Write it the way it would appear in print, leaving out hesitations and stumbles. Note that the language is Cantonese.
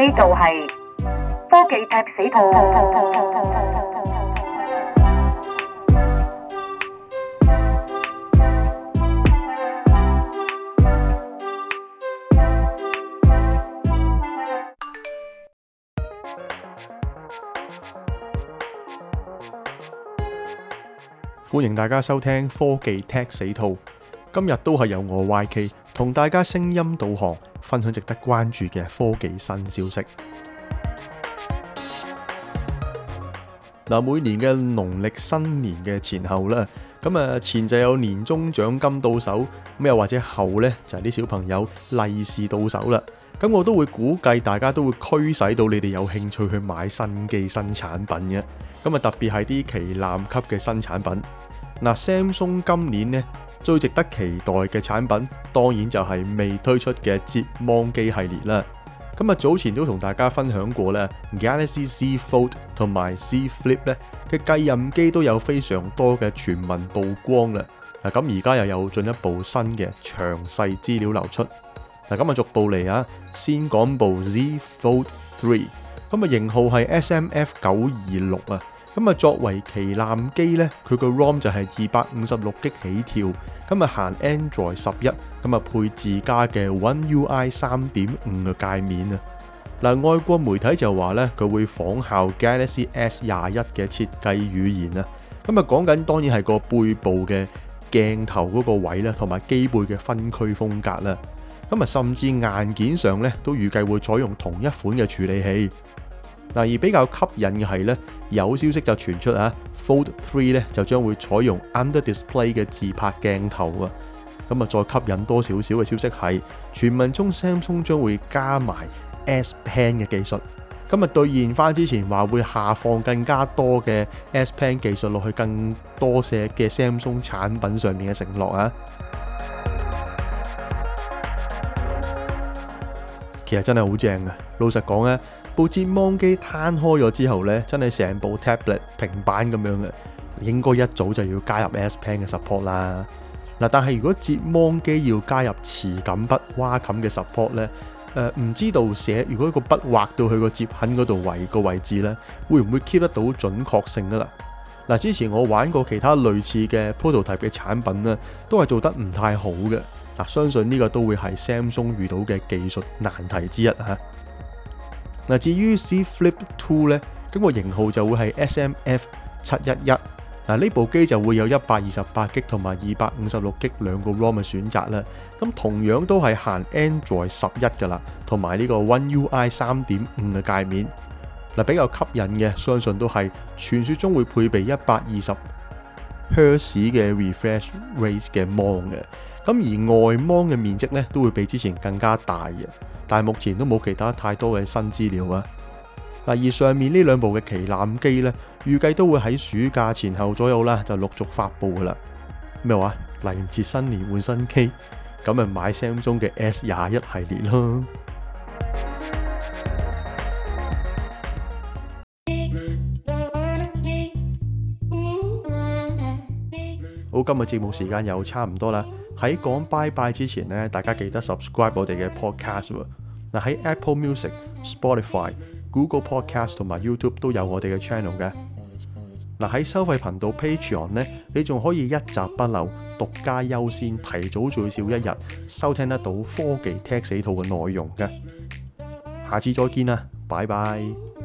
度係科技踢死兔。 歡迎大家收聽科技踢死兔。今日都係由我 YK 同大家聲音導航，分享值得關注嘅科技新消息。每年嘅農曆新年嘅前後啦，前就有年終獎金到手，又或者後呢，就係啲小朋友利是到手啦。咁我都會估計大家都會驅使到你哋有興趣去買新機新產品嘅。特別係啲旗艦級嘅新產品。Samsung 今年呢，最值得期待嘅產品，當然就係未推出嘅摺芒機系列啦。早前都同大家分享過咧，Galaxy Z Fold 同埋 Z Flip 咧嘅繼任機都有非常多嘅傳聞曝光啦。而家又有進一步新嘅詳細資料流出。逐步嚟啊，先講部 Z Fold 3，型號係 SMF926啊。作為旗艦機咧，佢個 ROM 就係256GB 起跳，行 Android 11，配自家嘅 One UI 3.5嘅界面啊。外國媒體就話咧，佢會仿效 Galaxy S21嘅設計語言啊。講緊當然係個背部嘅鏡頭嗰個位啦，同埋機背嘅分區風格啦。甚至硬件上咧都預計會採用同一款嘅處理器。而比較吸引嘅係咧，有消息就傳出Fold 3咧就將會採用 Under Display 嘅自拍鏡頭啊。再吸引多少少嘅消息係，傳聞中 Samsung 將會加埋 S Pen 嘅技術。兌現翻之前話會下放更加多嘅 S Pen 技術落去更多些嘅 Samsung 產品上面嘅承諾啊。其實真係好正啊！老實講咧，部摺芒機攤開咗之後咧，真係成部 tablet 平板咁樣嘅，應該一早就要加入 S Pen 嘅 support 啦。但係如果摺芒機要加入磁感筆、挖冚嘅 support 咧，唔知道如果個筆畫到去個摺痕嗰度個位置咧，會唔會 keep 得到準確性噶啦？之前我玩過其他類似嘅 prototype 嘅產品咧，都係做得唔太好嘅。相信呢個都會係 Samsung 遇到嘅技術難題之一嚇。至於 Z Flip 2咧，咁個型號就會係 SMF711。呢部機就會有128GB 同埋256GB 兩個 ROM 嘅選擇啦。咁同樣都係行 Android 11噶啦，同埋呢個 One UI 3.5嘅界面。比較吸引嘅，相信都係傳說中會配備120Hz 嘅 refresh rate 嘅芒嘅。而外芒嘅面積咧都會比之前更加大嘅，但係目前都冇其他太多嘅新資料啊。而上面呢兩部嘅旗艦機咧，預計都會喺暑假前後左右啦，就陸續發布噶啦。咩話？嚟唔切新年換新機，咁咪買 Samsung 嘅 S21系列咯。好，今日節目時間又差唔多啦。喺講拜拜之前呢，大家記得 subscribe 我哋嘅 podcast 喎。喺 Apple Music、Spotify、Google Podcast 同埋 YouTube 都有我哋嘅 channel 嘅。喺收費頻道 Patreon 呢，你仲可以一集不漏、獨家優先、提早最少一日收聽得到科技踢死兔嘅內容嘅。下次再見啦，拜拜。